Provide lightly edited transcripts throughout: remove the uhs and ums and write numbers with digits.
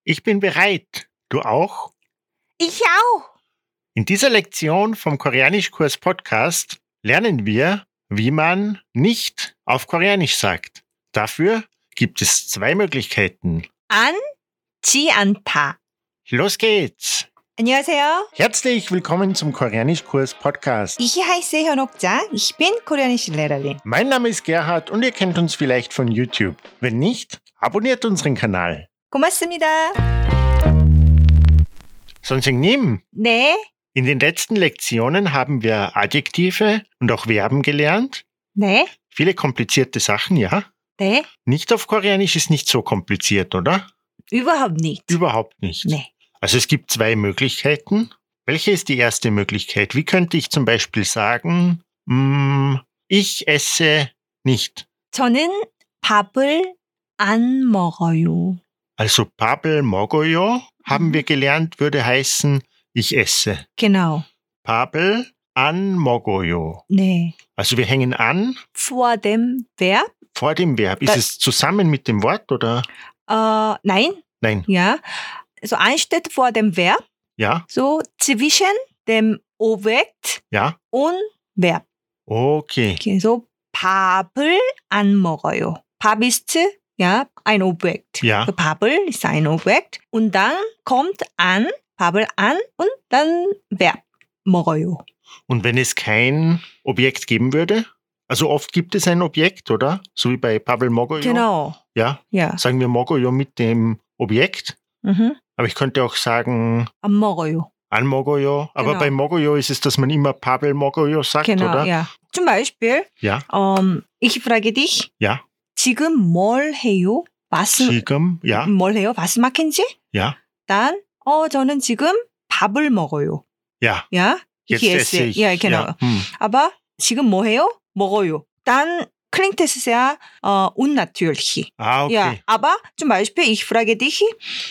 Ich bin bereit. Du auch? Ich auch. In dieser Lektion vom Koreanischkurs Podcast lernen wir, wie man nicht auf Koreanisch sagt. Dafür gibt es 2 Möglichkeiten. 앉지 않다. Los geht's! 안녕하세요. Herzlich willkommen zum Koreanischkurs Podcast. Ich heiße 현옥자. Ich bin koreanische Lehrerin. Mein Name ist Gerhard und ihr kennt uns vielleicht von YouTube. Wenn nicht, abonniert unseren Kanal. 고맙습니다. 선생님, 네. in den letzten Lektionen haben wir Adjektive und auch Verben gelernt. 네. Viele komplizierte Sachen, ja? 네. Nicht auf Koreanisch ist nicht so kompliziert, oder? überhaupt nicht. Überhaupt nicht. 네. Also es gibt 2 Möglichkeiten. Welche ist die erste Möglichkeit? Wie könnte ich zum Beispiel sagen, ich esse nicht? 저는 밥을 안 먹어요. Also 밥을 먹어요, haben wir gelernt, würde heißen, ich esse. Genau. 밥을 안 먹어요. 네. Also wir hängen an vor dem Verb. vor dem Verb. Ist es zusammen mit dem Wort oder? Nein. Nein. Ja. So anstatt vor dem Verb, Ja? so zwischen dem Objekt Ja? und Verb. Okay. Okay, so 밥을 안 먹어요. 밥 ist ja ein Objekt. Ja. So, 밥을 ist ein Objekt und dann kommt an, 밥을 an und dann Verb 먹어요. Und wenn es kein Objekt geben würde? Also oft gibt es ein Objekt, oder? So wie bei 밥을 먹어요. Genau. Ja? Ja. Sagen wir 먹어요 mit dem Objekt. Mhm. Aber ich könnte auch sagen 안 먹어요. 안 먹어요. Aber Genau. bei 먹어요 ist es, dass man immer 밥을 먹어요 sagt, Genau, oder? ja. Zum Beispiel, Ja. ich frage dich, Ja. 지금 뭘 해요? Was, 지금, ja. 뭘 해요? Was machen Sie? Ja. dann, 저는 지금 밥을 먹어요. Ja. Ja? Jetzt ich esse ich. Ja, genau. Ja. Aber 지금 뭐 해요? 먹어요. Dann klingt es sehr unnatürlich. Ah, okay. Ja, aber zum Beispiel, ich frage dich,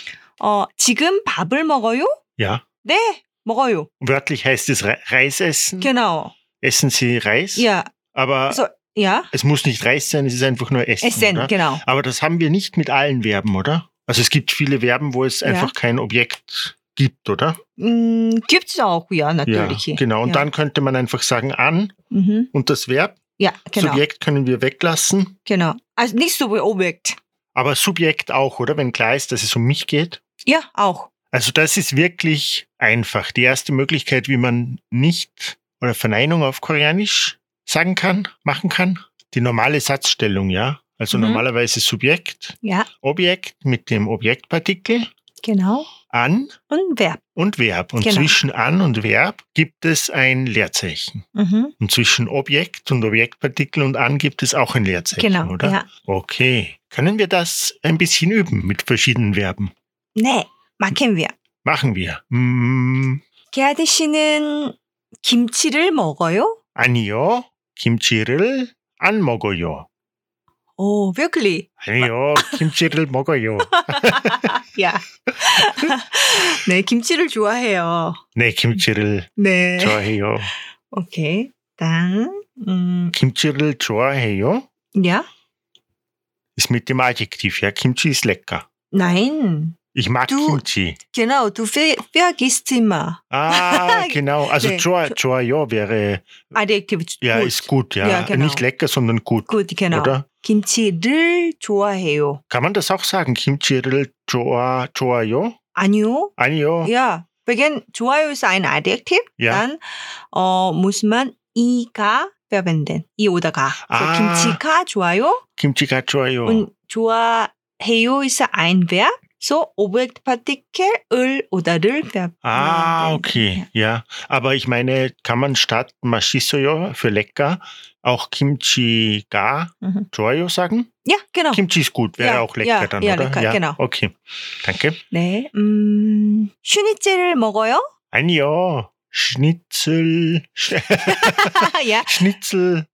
지금 밥을 먹어요? Ja. 네, 먹어요. Wörtlich heißt es Reis essen. Genau. Essen Sie Reis? Ja, Aber also, ja, es muss nicht Reis sein, es ist einfach nur Essen, essen, oder? genau. Aber das haben wir nicht mit allen Verben, oder? Also es gibt viele Verben, wo es Ja. einfach kein Objekt gibt, oder? Gibt es auch, ja, Ja, natürlich. genau. Und ja. dann könnte man einfach sagen an Mhm. und das Verb. Ja, genau. Subjekt können wir weglassen. Genau. Also nicht so wie Objekt. Aber Subjekt auch, oder? Wenn klar ist, dass es um mich geht. Ja, auch. Also das ist wirklich einfach. Die erste Möglichkeit, wie man nicht oder Verneinung auf Koreanisch sagen kann, machen kann. Die normale Satzstellung, ja. Also normalerweise Subjekt, Ja, Objekt mit dem Objektpartikel, genau. an Und Verb. und Verb. Und Genau. zwischen an und Verb gibt es ein Leerzeichen. Mhm. Und zwischen Objekt und Objektpartikel und an gibt es auch ein Leerzeichen, Genau, oder? ja. Okay. Können wir das ein bisschen üben mit verschiedenen Verben? 네, machen wir. Machen wir. 게하드 씨는 김치를 먹어요? 아니요. 김치를 안 먹어요. 오, wirklich? 아니요. 김치를 먹어요. Ja. 네, 김치를 좋아해요. 네, 김치를 네. 좋아해요. Okay. Dann, 김치를 좋아해요? ja? Ist mit dem Adjektiv, ja. Kimchi ist lecker. Nein. Ich mag Du- Kimchi. Genau, du vergisst immer. Ah, genau. Also 네. 좋아요 wäre, Adjektiv. ja, gut. ist gut, ja. Ja, genau. Nicht lecker, sondern gut. Gut, genau. Oder? 김치를 좋아해요. Kann man das auch sagen? 김치를 좋아요? 아니요. 아니요. Ja, wegen 좋아요 ist ein Adjektiv. Ja. Dann muss man 이가 verwenden. 이 oder 가. So, Ah. 김치가 좋아요. 김치가 좋아요. Und 좋아해요 ist ein Verb. So, Objektpartikel 을 oder를 verwenden. Ah, okay, ja. Aber ich meine, kann man statt 맛있어요 für lecker auch 김치가 좋아요 sagen? Ja, genau. Kimchi ist gut, wäre Ja, auch lecker ja, dann, ja, oder? lecker, genau. Okay, danke. 네, 슈니첼을 먹어요? 아니요, Schnitzel, ja, Schnitzel를,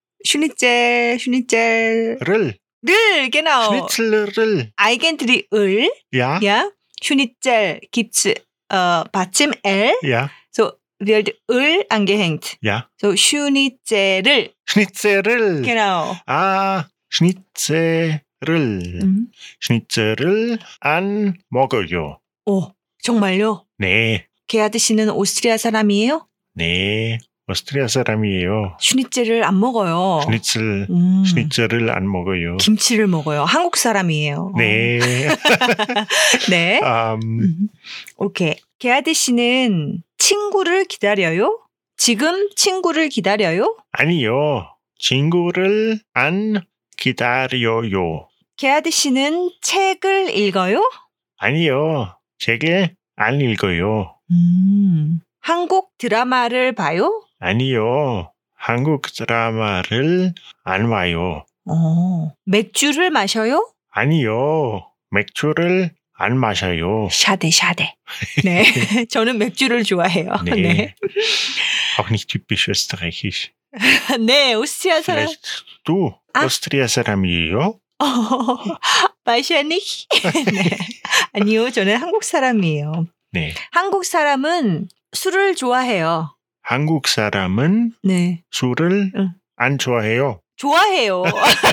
슈니첼. 를, genau. Schnitzel를, eigentlich 을, ja, ja. 슈니첼 gibt's 받침 L. ja, So wird 을 angehängt. ja. So 슈니첼을. Schnitzel을, Genau. ah, Schnitzel을, Schnitzel을 안 먹어요. 정말요? 네, 게하드 씨는 오스트리아 사람이에요? 네. 오스트리아 사람이에요. 슈니첼을 안 먹어요. 슈니첼을 안 먹어요. 김치를 먹어요. 한국 사람이에요. 네. 네. 오케이. 게하드 씨는 친구를 기다려요? 지금 친구를 기다려요? 아니요. 친구를 안 기다려요. 게하드 씨는 책을 읽어요? 아니요. 책을 안 읽어요. 한국 드라마를 봐요? 아니요. 한국 드라마를 안 봐요. 맥주를 마셔요? 아니요. 맥주를 안 마셔요. 샤데. 네. 저는 맥주를 좋아해요. Nee. 네. Auch nicht typisch österreichisch. 네, 오스트리아 사람. Vielleicht du 오스트리아 사람이에요? wahrscheinlich. 네. 아니요, 저는 한국 사람이에요. 네. 한국 사람은 술을 좋아해요. 한국 사람은 네. 술을 안 좋아해요. 좋아해요.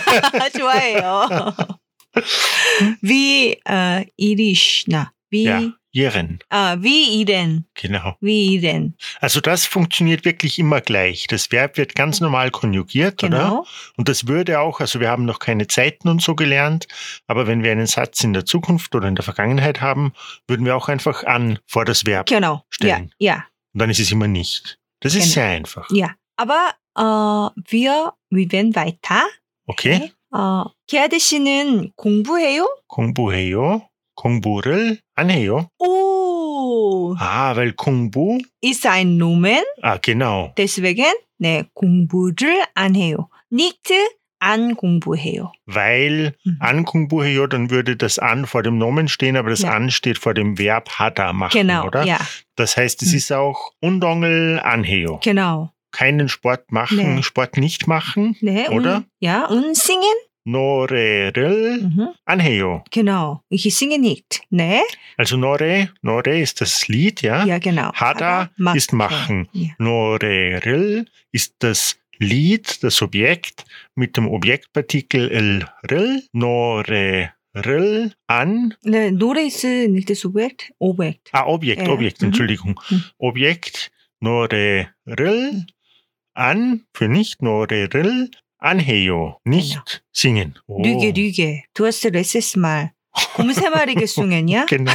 Wie irisch, Ja, Iren. Wie Iren. Genau. Wie Iren. Also das funktioniert wirklich immer gleich. Das Verb wird ganz normal konjugiert, Genau. oder? Und das würde auch, also wir haben noch keine Zeiten und so gelernt, aber wenn wir einen Satz in der Zukunft oder in der Vergangenheit haben, würden wir auch einfach an vor das Verb Genau. stellen. Ja. Und dann ist es immer nicht. Das ist sehr einfach. Ja. Aber wir werden weiter. Okay. 게하드 씨는 공부해요? 공부해요. 공부를 안 해요. 오. weil 공부. ist ein Nomen. Genau. deswegen 네, 공부를 안 해요. Nicht an 공부해요. Weil an 공부해요, dann würde das an vor dem Nomen stehen, aber das an steht vor dem Verb 하다 machen, genau, oder? Ja. Das heißt, es ist auch 운동을 안 해요. Genau. Keinen Sport machen, 네. Sport nicht machen, 네, oder? und singen? 노래를 안 해요. Genau. Ich singe nicht. 네. Also 노래 ist das Lied, ja? Ja, genau. 하다 ist machen. Ja. 노래를 ist das Lied, das Objekt mit dem Objektpartikel 를, 노래를 an. 네, 노래 ist nicht das Objekt. Objekt. Objekt, Entschuldigung. Objekt, 노래를 an, für nicht, 노래를 안 해요. Nicht singen. Lüge. Du hast letztes Mal 곰새마리 gesungen, ja? Genau.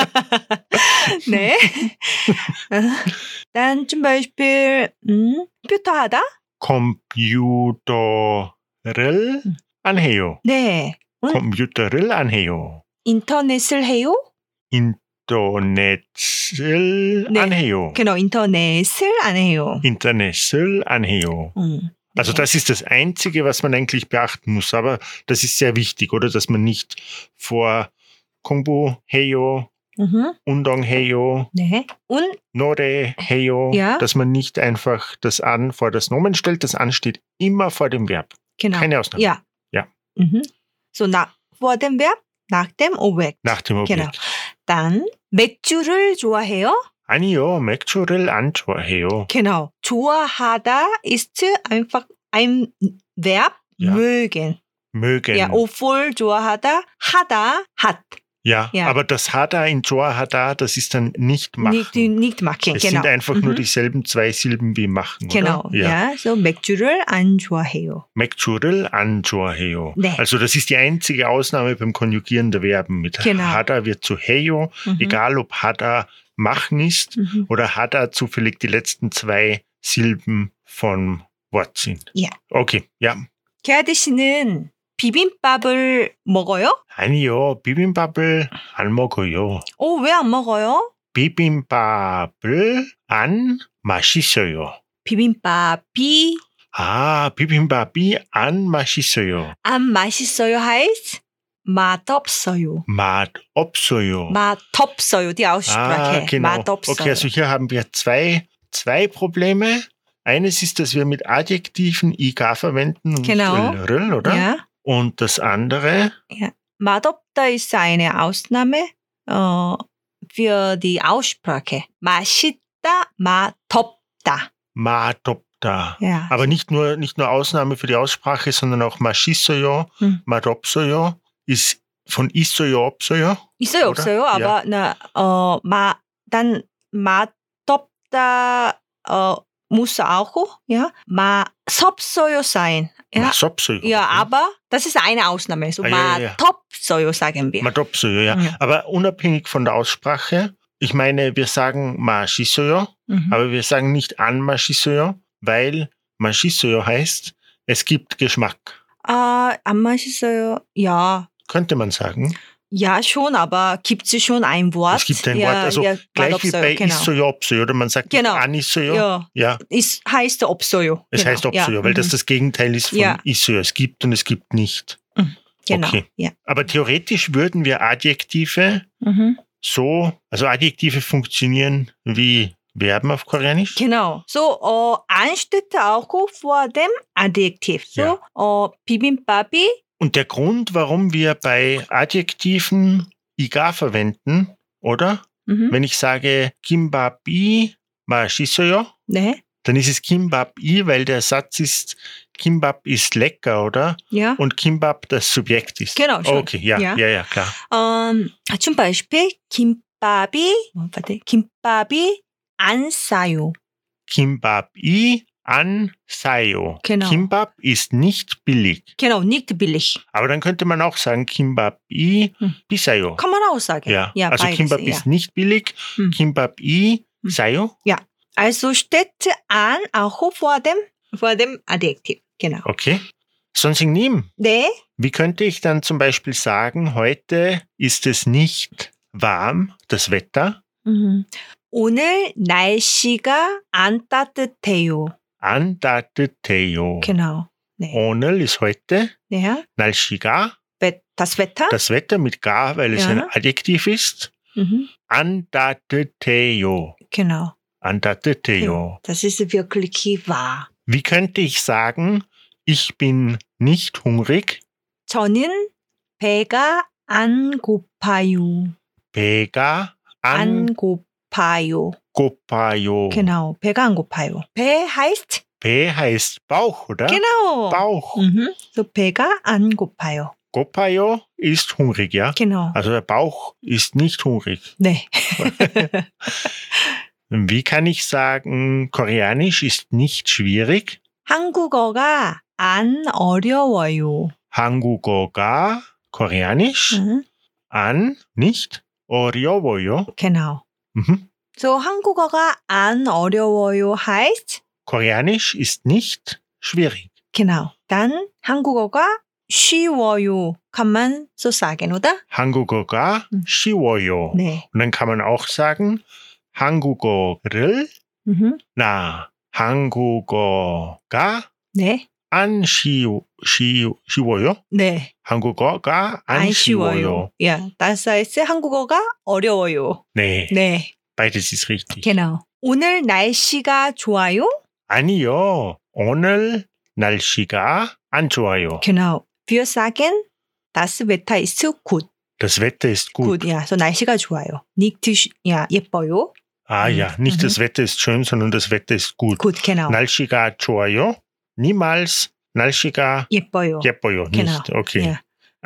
네. dann zum Beispiel 컴퓨터 하다? 컴퓨터를 안 해요. 네. 컴퓨터를 안 해요. 인터넷을 해요? 인터넷을 안 해요. Genau, 인터넷을 안 해요. Internet을 안 해요. Also das ist das Einzige, was man eigentlich beachten muss. Aber das ist sehr wichtig, oder? Dass man nicht vor 공부해요, 운동해요, 네. Und 노래해요, ja. dass man nicht einfach das an vor das Nomen stellt. Das an steht immer vor dem Verb. Genau. Keine Ausnahme. Ja. So vor dem Verb, nach dem Objekt. Nach dem Objekt. Genau. Dann 맥주를 좋아해요? 아니요, 맥주를 안 좋아해요. Genau. 좋아하다 ist einfach ein Verb, Ja. mögen. Ja, obwohl 좋아하다, 하다, hat. Ja, aber das 하다 in 좋아하다, das ist dann nicht machen. Nicht machen, es genau. sind einfach nur dieselben zwei Silben wie machen, genau. oder? Ja, so 맥주를 안 좋아해요. 맥주를 안 좋아해요. 네. Also das ist die einzige Ausnahme beim Konjugieren der Verben. Mit Genau. 하다 wird zu 해요, egal ob 하다 machen ist oder 하다 zufällig die letzten zwei Silben vom Wort sind. Ja. Okay, ja. 게하드 씨는 비빔밥을 먹어요? 아니요, 비빔밥을 안 먹어요. 왜 안 먹어요? 비빔밥을 안 맛있어요. 비빔밥이 비빔밥이 안 맛있어요. 안 맛있어요 heißt 맛없어요. 맛없어요. 맛없어요, die Aussprache. Genau. 맛없어요. Okay, also hier haben wir zwei Probleme. Eines ist, dass wir mit Adjektiven IK verwenden und genau. nicht ll, oder? Ja. Und das andere? Ja. 맛없다 ist eine Ausnahme für die Aussprache. 맛있다, 맛없다. 맛없다. Ja. Aber nicht nur Ausnahme für die Aussprache, sondern auch 맛있어요, 맛없어요 ist Von 있어요, 없어요? 있어요, oder? 없어요. Ja. Aber dann 맛없다 muss auch, ja, 맛없어요 sein. Ja, 맛없어요. ja, okay. aber das ist eine Ausnahme. So Ja. 맛없어요 sagen wir. 맛없어요, ja. Ja. Aber unabhängig von der Aussprache, ich meine, wir sagen 맛있어요, Mhm. aber wir sagen nicht an 맛있어요, weil 맛있어요 heißt, es gibt Geschmack. 안 맛있어요. Ja. Könnte man sagen. Ja, schon, aber gibt es schon ein Wort? Es gibt ein ja, Wort, also ja, gleich wie 맛없어요. bei genau. 있어요, 없어요, oder man sagt Genau. nicht an 있어요. Ja, Ja, es heißt 없어요. es genau. heißt 없어요, ja. weil das mhm. das Gegenteil ist von Ja. 있어요. Es gibt und es gibt nicht. Genau. Okay. Ja. Aber theoretisch würden wir Adjektive Mhm. also Adjektive funktionieren wie Verben auf Koreanisch. Genau. So, an steht auch vor dem Adjektiv. So, 비빔밥이 Und der Grund, warum wir bei Adjektiven iga verwenden, oder? mhm. Wenn ich sage 김밥이 맛있어요, 네. dann ist es 김밥이, weil der Satz ist, Kimbab ist lecker, oder? Ja. Und Kimbab das Subjekt ist. Genau, schon. Okay, ja, Ja. klar. zum Beispiel 김밥이 안 싸요. Kimbab이 안 사요. Genau. Kimbab ist nicht billig. Genau, nicht billig. Aber dann könnte man auch sagen, Kimbab이 hm. 비싸요. Kann man auch sagen. Ja, ja also beides, Kimbab ja. ist nicht billig, hm. Kimbab이 hm. 싸요. Also steht an auch vor dem Adjektiv. Genau. Okay. Synonym. 네. Wie könnte ich dann zum Beispiel sagen, heute ist es nicht warm, das Wetter? 오늘 날씨가 안 따뜻해요. 안 따뜻해요. Genau. 네. 오늘 ist heute, Ja. 날씨가, Das Wetter. das Wetter mit ga, weil es Ja. ein Adjektiv ist. 안 따뜻해요. Genau. 안 따뜻해요. Das ist wirklich wahr. Wie könnte ich sagen, ich bin nicht hungrig? 저는 배가 안 고파요. 배가 안 고파요. 고파요. Genau. 배가 안 고파요. 배 heißt? 배 heißt Bauch, oder? Genau. Bauch. So 배가 안 고파요. 고파요 ist hungrig, ja? Genau. Also der Bauch ist nicht hungrig. 네. Wie kann ich sagen, Koreanisch ist nicht schwierig? 한국어가 안 어려워요. 한국어가 Koreanisch 안 nicht 어려워요. Genau. So 한국어가 안 어려워요 heißt? Koreanisch ist nicht schwierig. Genau. Dann 한국어가 쉬워요. Kann man so sagen, oder? 한국어가 쉬워요. 네. Und dann kann man auch sagen, 한국어를 한국어가 네. 안 쉬워요? 네. 한국어가 안 쉬워요. Ja, das heißt 한국어가 어려워요. 네, 네. beides ist richtig. Genau. 오늘 날씨가 좋아요? 아니요, 오늘 날씨가 안 좋아요. Genau. Wir sagen, das Wetter ist gut. Das Wetter ist gut. Gut, ja. So 날씨가 좋아요. Nicht, ja, 예뻐요. Ja, nicht das Wetter ist schön, sondern das Wetter ist gut. Gut, genau. 날씨가 좋아요. Niemals 날씨가 예뻐요. 예뻐요. Genau. Nicht. Okay. Ja.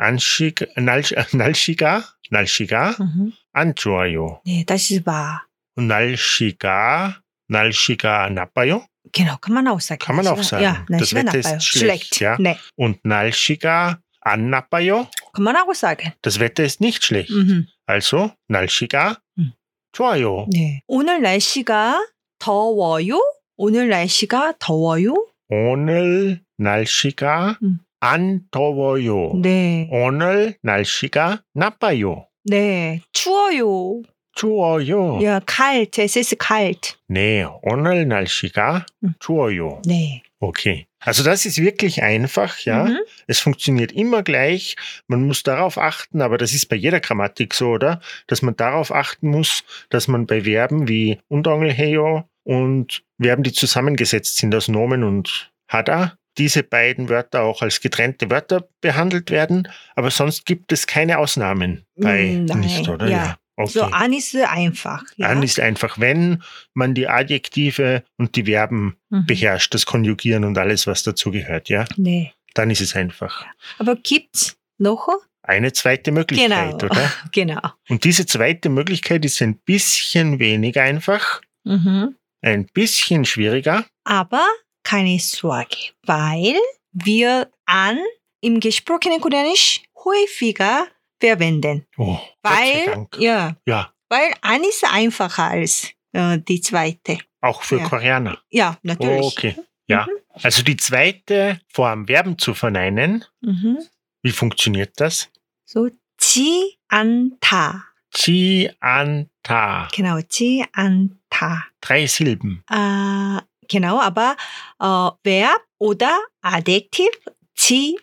날씨가 안 좋아요. 네, das ist wahr. Und 날씨가 나빠요? Genau, kann man auch sagen. Kann man auch sagen. Ja, Das 날씨가 Wetter 나빠요. ist schlecht, ja? 네, Und 날씨가 안 나빠요? kann man auch sagen. Das Wetter ist nicht schlecht. Also 날씨가 좋아요. 네. 오늘 날씨가 더워요? 오늘 날씨가 더워요? 오늘 날씨가 안 더워요. 네. 오늘 날씨가 나빠요. 네. 추워요. 추워요. Ja, kalt. Es ist kalt. Nee, 오늘 날씨가 추워요. 네. Okay. Also das ist wirklich einfach, ja. Es funktioniert immer gleich. Man muss darauf achten, aber das ist bei jeder Grammatik so, oder? Dass man darauf achten muss, dass man bei Verben wie 운동을해요 und Verben, die zusammengesetzt sind aus Nomen und 하다, diese beiden Wörter auch als getrennte Wörter behandelt werden. Aber sonst gibt es keine Ausnahmen bei Nein, nicht, oder? ja. Okay. So an ist einfach. Ja? An ist einfach, wenn man die Adjektive und die Verben beherrscht, das Konjugieren und alles, was dazu gehört, ja? 네. Dann ist es einfach. Aber gibt's noch eine zweite Möglichkeit, Genau. oder? Genau. Und diese zweite Möglichkeit ist ein bisschen weniger einfach, Mhm. ein bisschen schwieriger. Aber keine Sorge, weil wir an im gesprochenen Koreanisch häufiger verwenden. Oh, Gott sei Weil, Dank. ja, Ja, weil an ist einfacher als die zweite. auch für Ja. Koreaner. Ja, natürlich. Okay, ja. Also die zweite Form, Verben zu verneinen, Mhm. wie funktioniert das? So, 지 않다. Chi, an, ta. Genau, 지 않다. 3 Silben. Genau, aber Verb oder Adjektiv 지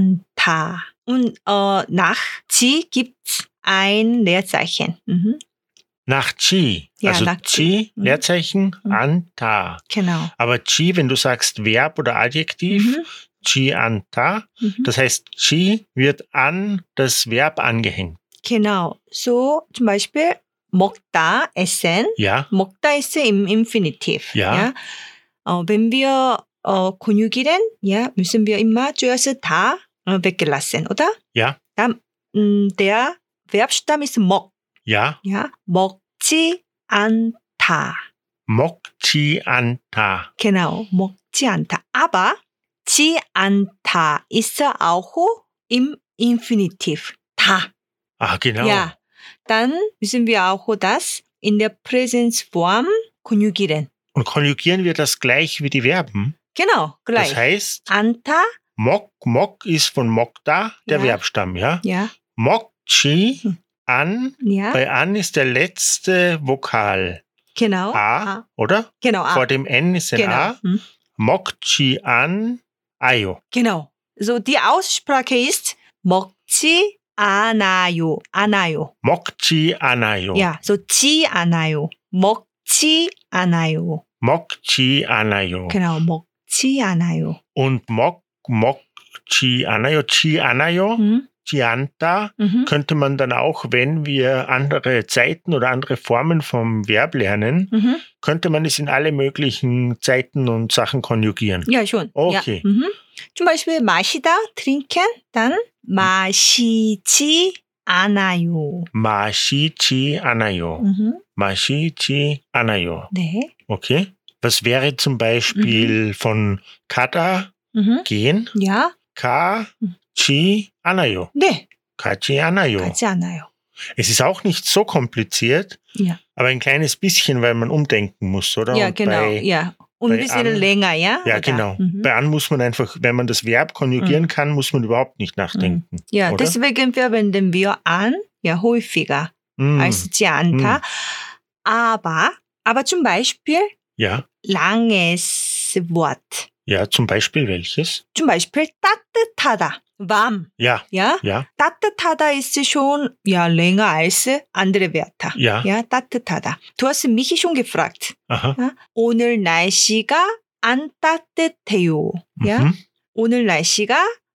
않다. Und nach 지 gibt's ein Leerzeichen. Mhm. Nach Chi. Ja, Also nach Chi, Mhm. Leerzeichen, Mhm. an, ta. Genau. Aber Chi, wenn du sagst Verb oder Adjektiv, Mhm. Chi, an, ta, Mhm. das heißt, Chi wird an das Verb angehängt. Genau. So zum Beispiel 먹다, essen. Ja, 먹다 ist im Infinitiv. Ja. Wenn wir Konjugieren, ja, müssen wir immer zuerst da weggelassen, oder? ja, Dann der Verbstamm ist 먹. ja. Ja, 먹지 않다. Mokchi, an, ta. Genau, 먹지 않다. Aber 지 않다 ist auch im Infinitiv. 다. Ah, genau. Ja, dann müssen wir auch das in der Präsensform konjugieren. Und konjugieren wir das gleich wie die Verben? Genau, gleich. Das heißt, 않다, mok ist von mokta, der Ja. Verbstamm, ja? ja, Mokchi, an, ja, bei an ist der letzte Vokal. genau. A, oder? Genau, A. Vor dem N ist ein Genau. A. Mokchi, an, ayo. Genau. So die Aussprache ist 먹지 않아요. 않아요. Mokchi, anayo. Ja, so 지 않아요. 먹지 않아요. Mokchi, anayo. Genau, 먹지 않아요. Und mokchi, anayo, chi, anayo, Mhm. chianta, Mhm. könnte man dann auch, wenn wir andere Zeiten oder andere Formen vom Verb lernen, Mhm. könnte man es in alle möglichen Zeiten und Sachen konjugieren. Ja, schon. Okay. Ja. Mhm. zum Beispiel 마시다, trinken, dann 마시지 않아요. Mashichi anayo. Mhm. Mashichi anayo. 네. Okay. Was wäre zum Beispiel von kada, Mhm. gehen, Ja, ka, chi, anayo. 네. Kachi anayo. 가지 않아요. Es ist auch nicht so kompliziert, Ja, aber ein kleines bisschen, weil man umdenken muss, oder? ja Und genau. Bei, Ja. Und ein bei bisschen an- länger, ja? ja, Oder? genau. Mhm. Bei an muss man einfach, wenn man das Verb konjugieren kann, muss man überhaupt nicht nachdenken. Ja, oder? deswegen verwenden wir an ja häufiger Mm, als 지 않다. Aber zum Beispiel ja, langes Wort. ja, zum Beispiel welches? zum Beispiel 따뜻하다. warm. Ja, Ja? ja, 따뜻하다 ist schon ja länger als andere Wörter. ja, Ja, 따뜻하다. Du hast mich schon gefragt. aha. Ja? 오늘 날씨가 안 따뜻해요. Ja? Mhm. 오늘 날씨가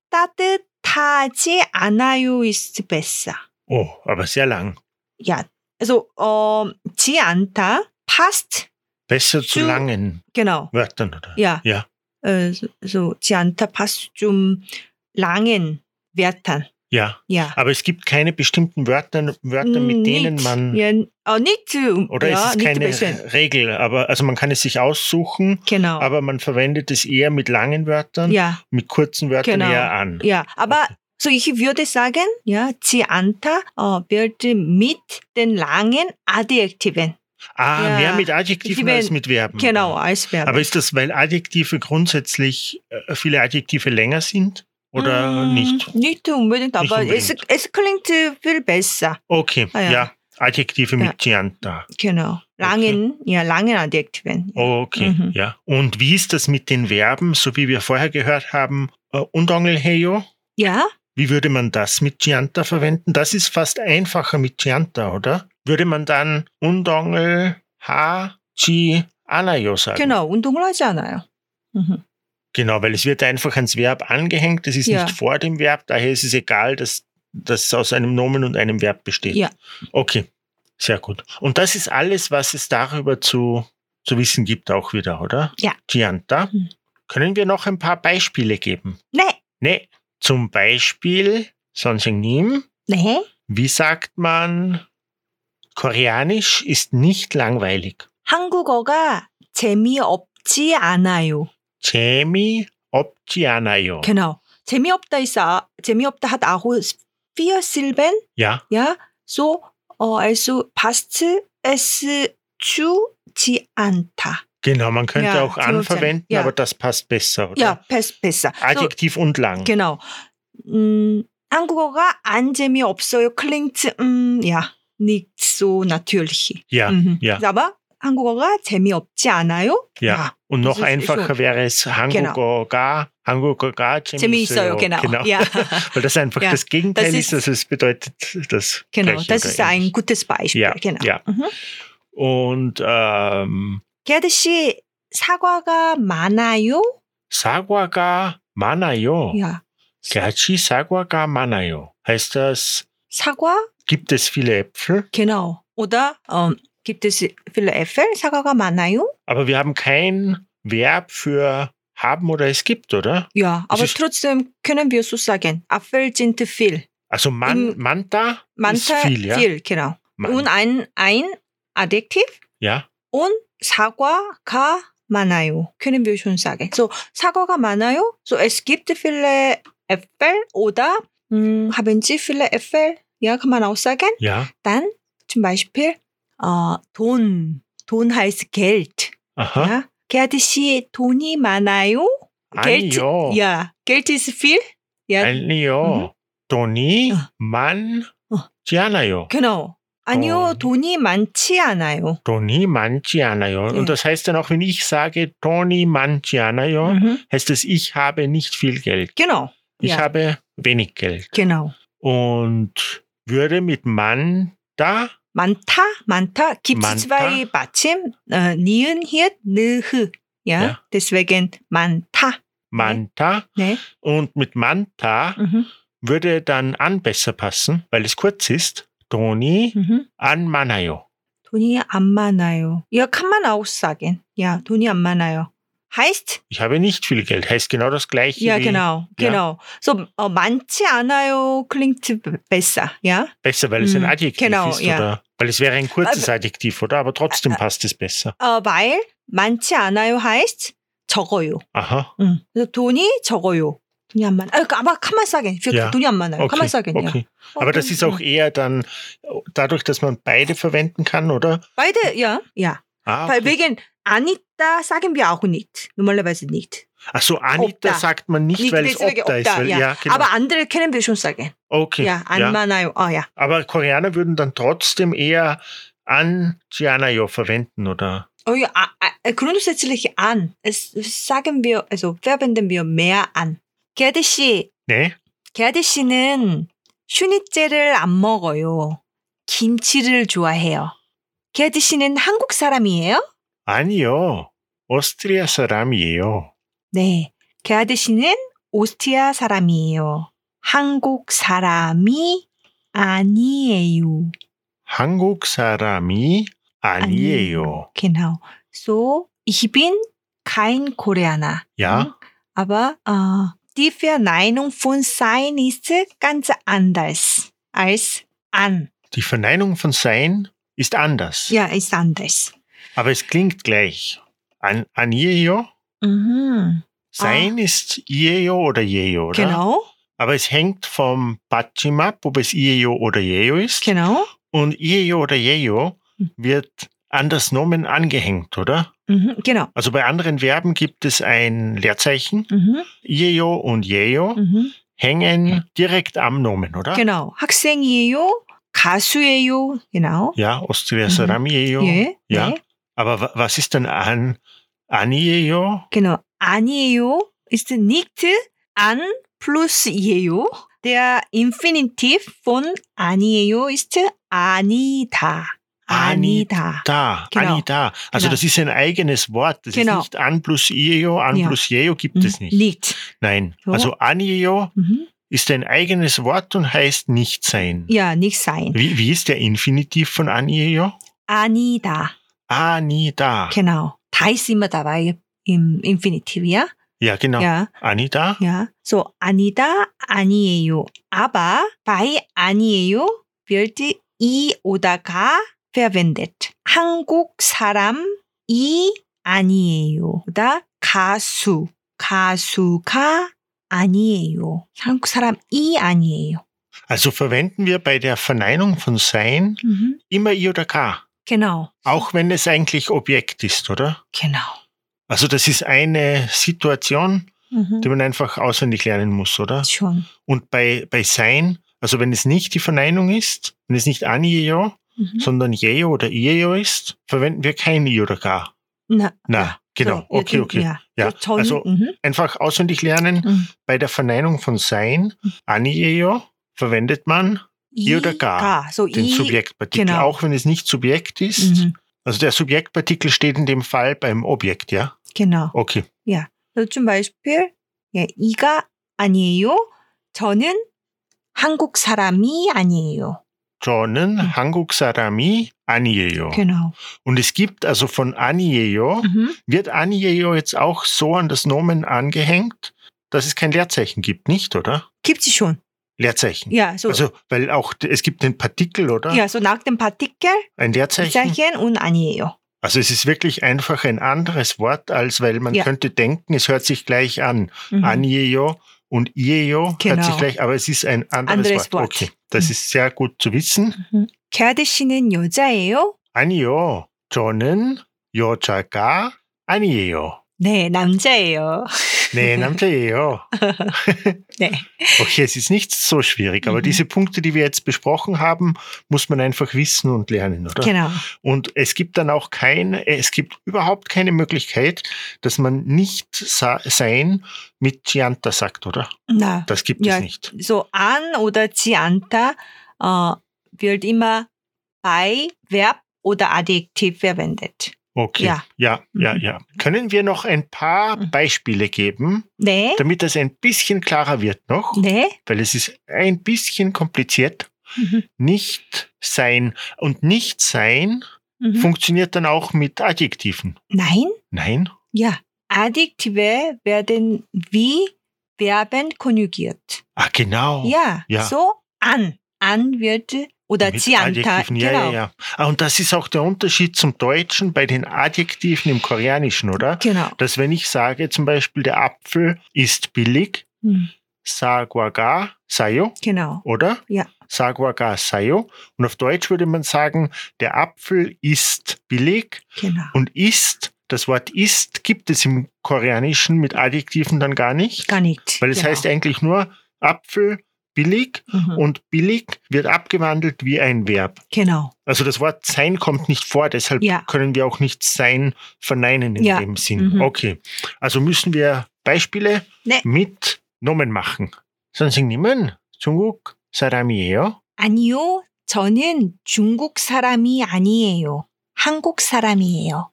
따뜻하지 않아요 ist besser. Oh, aber sehr lang. Ja, also 지 않다 passt. Besser zu Zu- langen Genau. Wörtern, oder? Ja. Ja, So 지 않다 passt zum langen Wörtern. ja. Ja. Aber es gibt keine bestimmten Wörter mit denen man, Ja, nicht oder ja, ist es nicht keine besser. Regel, aber also man kann es sich aussuchen, Genau. aber man verwendet es eher mit langen Wörtern, ja, mit kurzen Wörtern Genau. eher an. ja. Aber Okay. so ich würde sagen, ja, 지 않다 wird mit den langen Adjektiven. Ah, Ja. mehr mit Adjektiven Die als werden- mit Verben. Genau, als Verb. Aber ist das, weil Adjektive grundsätzlich viele Adjektive länger sind oder nicht? Nicht unbedingt, aber unbedingt. Es klingt viel besser. Okay, Ah, ja. ja. Adjektive mit Chianta. Genau. Langen Adjektiven. Ja. Okay, Mhm. ja. Und wie ist das mit den Verben, so wie wir vorher gehört haben? Undongelheyo? Ja, Wie würde man das mit Chianta verwenden? Das ist fast einfacher mit Chianta, oder? Würde man dann undongel ha chi anayo sagen? genau. 운동을 하지 않아요. Mhm. Genau, weil es wird einfach ans Verb angehängt, es ist Ja. nicht vor dem Verb, daher ist es egal, dass das aus einem Nomen und einem Verb besteht. Ja. Okay, sehr gut. Und das ist alles, was es darüber zu wissen gibt auch wieder, oder? Ja. Chianta. Mhm. Können wir noch ein paar Beispiele geben? Nee. Nee. Zum Beispiel 선생님, 네. wie sagt man, Koreanisch ist nicht langweilig. 한국어가 재미없지 않아요. 재미없지 않아요. Genau. 재미없다 hat auch 4 Silben. Ja, Ja, so, also passt es 주지 않다. genau, man könnte Ja, auch an 재미없지 verwenden, ja. aber das passt besser, oder? Ja, besser. So, Adjektiv und lang. genau. 한국어가 안 재미없어요. Klingt, ja, nicht so natürlich. Ja, ja. Aber 한국어가 재미없지 않아요? Ja. Und noch das ist einfacher schon- wäre es 한국어가 재미있어요. Genau. Ja. Weil das einfach Ja. das Gegenteil Das ist, ist- also es bedeutet das Genau, Gleiche das oder ist ein ähnlich. gutes Beispiel. Ja, genau. ja. Und 게드 씨, 사과가 많아요? 사과가 많아요. Ja. Gerchi 사과가 많아요. Heißt das, 사과? gibt es viele Äpfel? Genau. Oder gibt es viele Äpfel? 사과가 많아요? Aber wir haben kein Verb für haben oder es gibt, oder? Ja, aber ist- trotzdem können wir so sagen. Äpfel sind viel. Also manta ist 많다, viel, ja? genau. Man- Und ein Adjektiv Ja, und 사과가 많아요. Können wir schon sagen. So, 사과가 많아요. So, es gibt viele Äpfel oder haben Sie viele Äpfel? Ja, kann man auch sagen. ja. Dann zum Beispiel 돈. 돈 heißt Geld. Aha. Ja. 게드 씨 돈이 많아요? 아니요. Ja, Geld ist viel. Ja, 아니요. 돈이 어. 많지 않아요. genau. 아니요, 돈이 많지 않아요. 돈이 많지 않아요. Ja. Und das heißt dann auch, wenn ich sage 돈이 많지 않아요, heißt es, ich habe nicht viel Geld. Genau. Ich ja, habe wenig Geld. genau. Und würde mit Mann da, 많다. Gibt 많다. es zwei 받침, 니은, 히읗, 느흐. Ja, Ja. deswegen 많다. Manta. 네. Und mit Manta würde dann an besser passen, weil es kurz ist. 돈이 안 많아요. 돈이 안 많아요. Ja, kann man auch sagen. Ja, 돈이 안 많아요. Heißt, Ich habe nicht viel Geld. Heißt genau das Gleiche ja, wie genau. So, 많지 않아요 klingt besser, ja? besser, weil es ein Adjektiv genau, ist. ja. Oder, weil es wäre ein kurzes Adjektiv, oder? Aber trotzdem passt es besser. weil 많지 않아요 heißt 적어요. Aha. 그래서 돈이 적어요. 돈이 안 많아. aber kann man sagen. Für Ja. 돈이 안 많아요. Kann man sagen, ja. Okay. Aber das ist auch eher dann dadurch, dass man beide verwenden kann, oder? Beide, ja. Ah, Weil okay. wegen Anita sagen wir auch nicht. Normalerweise nicht. Ach so, Anita Opta. sagt man nicht, weil es deswegen Opta ist. Weil, ja. genau. Aber andere können wir schon sagen. Okay. Ja, 안 많아요. ja. Aber Koreaner würden dann trotzdem eher an Gianayo verwenden, oder? Oh ja, grundsätzlich an. Es sagen wir, also verwenden wir mehr an. 게드 씨, 네? 게드 씨는 슈니째를 안 먹어요. 김치를 좋아해요. 게드 씨는 한국 사람이에요? 아니요. 오스트리아 사람이에요. 네. 게드 씨는 오스트리아 사람이에요. 한국 사람이 아니에요. 한국 사람이 아니에요. Genau. So, ich bin kein Koreaner. Ja? Aber die Verneinung von sein ist ganz anders als an. Die Verneinung von sein ist anders. Ja, ist anders. Aber es klingt gleich. Aniejo? Mhm. Sein ist Iejo oder Jejo, oder? Genau, Aber es hängt vom Batschim ab, ob es Iejo oder Jejo ist. genau. Und Iejo oder Jejo wird an das Nomen angehängt, oder? Mhm. Genau. Also bei anderen Verben gibt es ein Leerzeichen. Mhm. Iejo und Jejo Mhm. hängen direkt am Nomen, oder? genau. 학생이에요. 가수예요. Genau. Ja, Austria Saramiejo. 예. Ja. 네. Aber was ist denn Aniejo? Genau. 아니에요 ist nicht an plus 이에요. Der Infinitiv von 아니에요 ist 아니다. 아니다. Da, Genau. Anita. Also Genau. das ist ein eigenes Wort. Das Genau. ist nicht an plus Iejo, an Ja. plus Jejo gibt es nicht. Nicht. Nein. So. Also Aniejo Mhm. ist ein eigenes Wort und heißt nicht sein. Ja, nicht sein. Wie ist der Infinitiv von Aniejo? 아니다. Anida. Genau. Da ist immer dabei im Infinitiv, ja? Ja, genau. Ja. 아니다. Ja, so 아니다, 아니에요. Aber bei 아니에요 wird 이 oder 가 verwendet. 한국 사람이 아니에요. oder 가수가 아니에요. 한국 사람이 아니에요. Also verwenden wir bei der Verneinung von sein immer I oder K. Genau. Auch wenn es eigentlich Objekt ist, oder? Genau. Also das ist eine Situation, Mhm. die man einfach auswendig lernen muss, oder? Schon. Und bei sein, also wenn es nicht die Verneinung ist, wenn es nicht 아니에요, sondern 예요 oder 이에요 ist, verwenden wir kein I oder K. Na, Genau. So, Okay. Ja. Ja, 전, also einfach auswendig lernen. Bei der Verneinung von sein, 아니에요, verwendet man I oder K, So den I, Subjektpartikel, genau. auch wenn es nicht Subjekt ist. Also der Subjektpartikel steht in dem Fall beim Objekt, ja? Genau. Okay. Ja. So zum Beispiel, ja, 이가 아니에요. 저는 한국 사람이 아니에요. 저는 한국 사람이 아니에요. Genau. Und es gibt also von 아니에요, wird 아니에요 jetzt auch so an das Nomen angehängt, dass es kein Leerzeichen gibt, nicht, oder? Gibt es schon. Leerzeichen. Ja, so. Also, weil auch, es gibt den Partikel, oder? Ja, so nach dem Partikel, Ein Leerzeichen. Zeichen und 아니에요. Also es ist wirklich einfach ein anderes Wort, als weil man könnte denken, es hört sich gleich an. 아니에요 und 이에요 hört sich gleich, aber es ist ein anderes Wort. Okay, das ist sehr gut zu wissen. 게아드 씨는 여자예요? 아니요, 저는 여자가 아니에요. 네, 남자예요. 네, 남자예요. 네. Okay, es ist nicht so schwierig, aber diese Punkte, die wir jetzt besprochen haben, muss man einfach wissen und lernen, oder? Genau. Und es gibt dann auch es gibt überhaupt keine Möglichkeit, dass man nicht sein mit 지않다 sagt, oder? Na, Das gibt es nicht. So an oder 지않다 wird immer bei Verb oder Adjektiv verwendet. Okay, ja. Können wir noch ein paar Beispiele geben, 네. damit das ein bisschen klarer wird noch? 네. Weil es ist ein bisschen kompliziert. Nicht sein und nicht sein funktioniert dann auch mit Adjektiven. Nein. Nein? Ja, Adjektive werden wie Verben konjugiert. Ah, genau. Ja. So an. An wird oder mit 지않다. Adjektiven, Genau. ja. Ah, und das ist auch der Unterschied zum Deutschen bei den Adjektiven im Koreanischen, oder? Genau. Dass wenn ich sage zum Beispiel, der Apfel ist billig, 사과가 싸요, Genau. oder? Ja. 사과가 싸요. Und auf Deutsch würde man sagen, der Apfel ist billig Genau. und ist, das Wort ist gibt es im Koreanischen mit Adjektiven dann gar nicht. Gar nicht. Weil es heißt eigentlich nur Apfel billig und billig wird abgewandelt wie ein Verb. Genau. Also das Wort sein kommt nicht vor, deshalb können wir auch nicht sein verneinen in dem Sinn. Okay, also müssen wir Beispiele mit Nomen machen. 선생님은 중국 사람이에요? 아니요, 저는 중국 사람이 아니에요. 한국 사람이에요.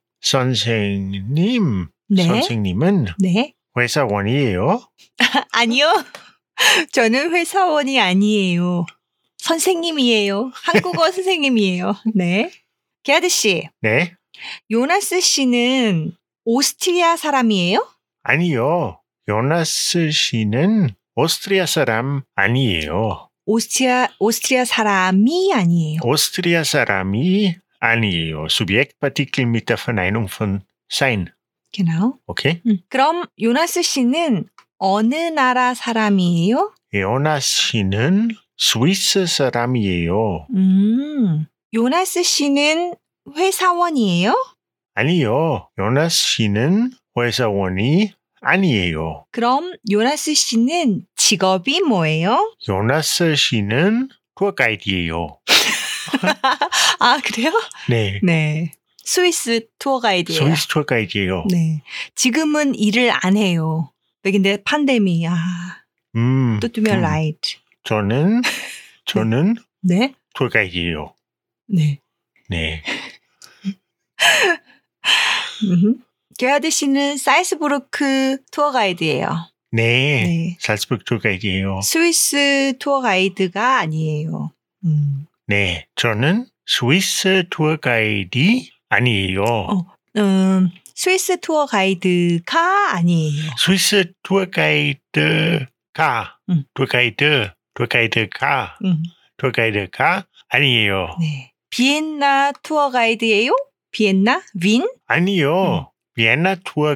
선생님, 네. 선생님은 네. 회사원이에요? 아니요. 저는 회사원이 아니에요. 선생님이에요. 한국어 선생님이에요. 네. 게아드 씨. 네. 요나스 씨는 오스트리아 사람이에요? 아니요. 요나스 씨는 오스트리아 사람 아니에요. 오스트리아 사람이 아니에요. 오스트리아 사람이 아니에요. Subjektpartikel mit der Verneinung von sein. Genau. Okay? 그럼 요나스 씨는 어느 나라 사람이에요? 요나스 씨는 스위스 사람이에요. 요나스 씨는 회사원이에요? 아니요. 요나스 씨는 회사원이 아니에요. 그럼 요나스 씨는 직업이 뭐예요? 요나스 씨는 투어가이드예요. 아, 그래요? 네. 네. 스위스 투어 가이드예요. 스위스 투어가이드예요. 네. 지금은 일을 안 해요. 근데 팬데믹. 또 두면 라이트. 저는 네. 투어가이드예요. 네. 네. 게아드 씨는 사이스부르크 투어 가이드예요. 네. 살츠부르크 투어가이드예요. 스위스 투어 가이드가 아니에요. 네. 저는 스위스 투어가이드 아니에요. 스위스 투어 가이드가 아니에요. 스위스 투어가이드가, 음. 투어가이드가 아니에요. 네. 비엔나 투어 가이드예요? 비엔나? 윈? 아니요. 비엔나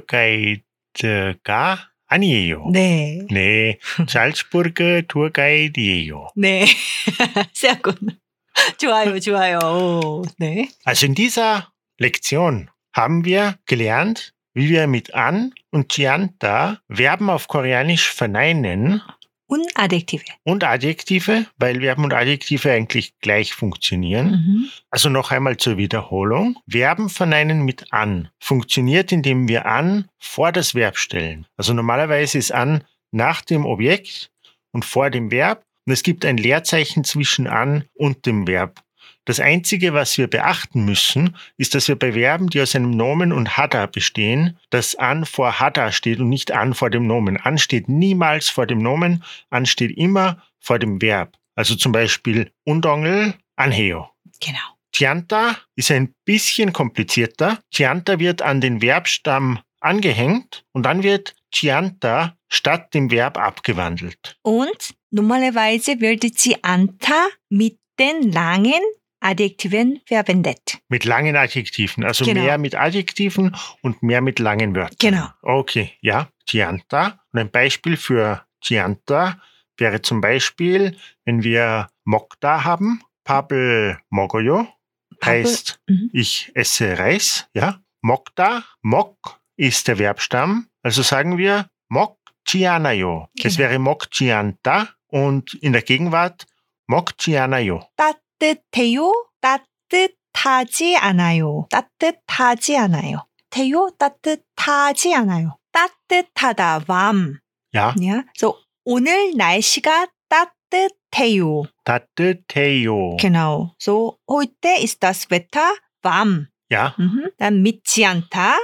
투어가이드가 아니에요. 네. 네. 잘츠부르크 투어가이드예요. 네. sehr gut. 좋아요, 좋아요. 오, 네. Also in dieser Lektion haben wir gelernt, wie wir mit an und Chianta Verben auf Koreanisch verneinen Und Adjektive. und Adjektive, weil Verben und Adjektive eigentlich gleich funktionieren. Mhm. Also noch einmal zur Wiederholung. Verben verneinen mit an funktioniert, indem wir an vor das Verb stellen. Also normalerweise ist an nach dem Objekt und vor dem Verb und es gibt ein Leerzeichen zwischen an und dem Verb. Das Einzige, was wir beachten müssen, ist, dass wir bei Verben, die aus einem Nomen und Hada bestehen, dass an vor Hada steht und nicht an vor dem Nomen. An steht niemals vor dem Nomen, an steht immer vor dem Verb. Also zum Beispiel undongel, anheo. Genau. Chianta ist ein bisschen komplizierter. Chianta wird an den Verbstamm angehängt und dann wird Chianta statt dem Verb abgewandelt. Und normalerweise wird Chianta mit den langen Adjektiven verwendet. Mit langen Adjektiven, also Genau. mehr mit Adjektiven und mehr mit langen Wörtern. Genau. Okay, ja, Chianta. Und ein Beispiel für Chianta wäre zum Beispiel, wenn wir Mokta haben, Papel Mogoyo, heißt ich esse Reis, ja. Mokta, Mok ist der Verbstamm, also sagen wir Mok Chianayo. Es Genau. wäre Mok Chianta und in der Gegenwart Mok Chianayo. 따뜻해요? 따뜻하지 않아요. 따뜻하지 않아요. 태요? 따뜻하지 않아요. 따뜻하다, warm. Ja, Ja? So, 오늘 날씨가 따뜻해요. 따뜻해요. Genau. So, heute ist das Wetter warm. Ja, dann 믿지 않다,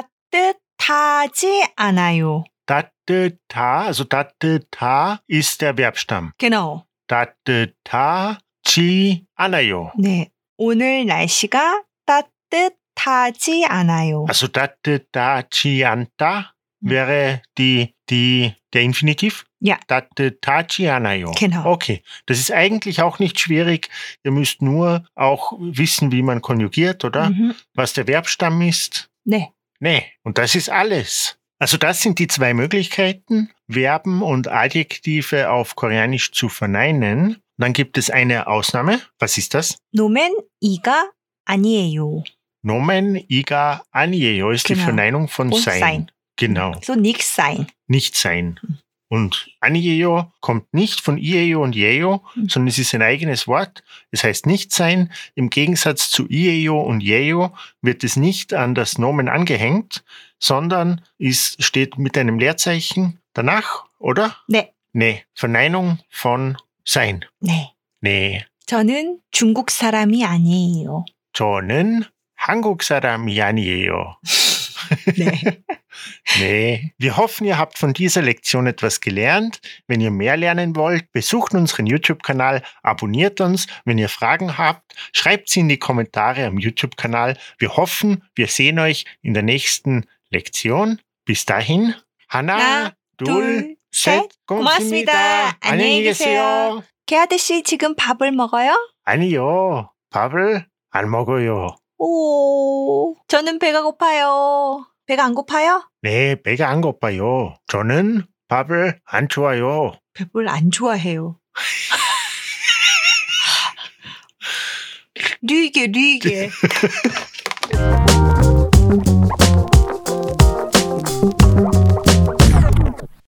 따뜻하지 않아요. 따뜻하, also 따뜻하 ist der Verbstamm. Genau. 따뜻하지 않아요. 네. 오늘 날씨가 따뜻하지 않아요. Also 따뜻하지 않다 wäre der Infinitiv. Ja. 따뜻하지 않아요. Genau. Okay, das ist eigentlich auch nicht schwierig. Ihr müsst nur auch wissen, wie man konjugiert, oder? Was der Verbstamm ist. 네. Nee, und das ist alles. Also das sind die zwei Möglichkeiten, Verben und Adjektive auf Koreanisch zu verneinen. Dann gibt es eine Ausnahme. Was ist das? 노men 이가 아니에요. Nomen iga anieyo ist die Genau. Verneinung von Und sein. sein. Genau, So nichts sein. nicht sein. Und anieyo kommt nicht von ieyo und yeyo, sondern es ist ein eigenes Wort. Es heißt nicht sein. Im Gegensatz zu ieyo und yeyo wird es nicht an das Nomen angehängt, sondern steht mit einem Leerzeichen danach, oder? 네. Nee, Verneinung von sein. 네. Nee, 저는 중국 사람이 아니에요. 저는 한국 사람이 아니에요. 네. Nee. Wir hoffen, ihr habt von dieser Lektion etwas gelernt. Wenn ihr mehr lernen wollt, besucht unseren YouTube-Kanal, abonniert uns. Wenn ihr Fragen habt, schreibt sie in die Kommentare am YouTube-Kanal. Wir hoffen, wir sehen euch in der nächsten Lektion. Bis dahin, 하나, 둘, 셋, 고맙습니다. 안녕히 계세요. 개아드 씨 지금 밥을 먹어요? 아니요, 밥을 안 먹어요. 오, 저는 배가 고파요. 배가 안 고파요? 네, 배가 안 고파요. 저는 밥을 안 좋아요. 배를 안 좋아해요. 리게.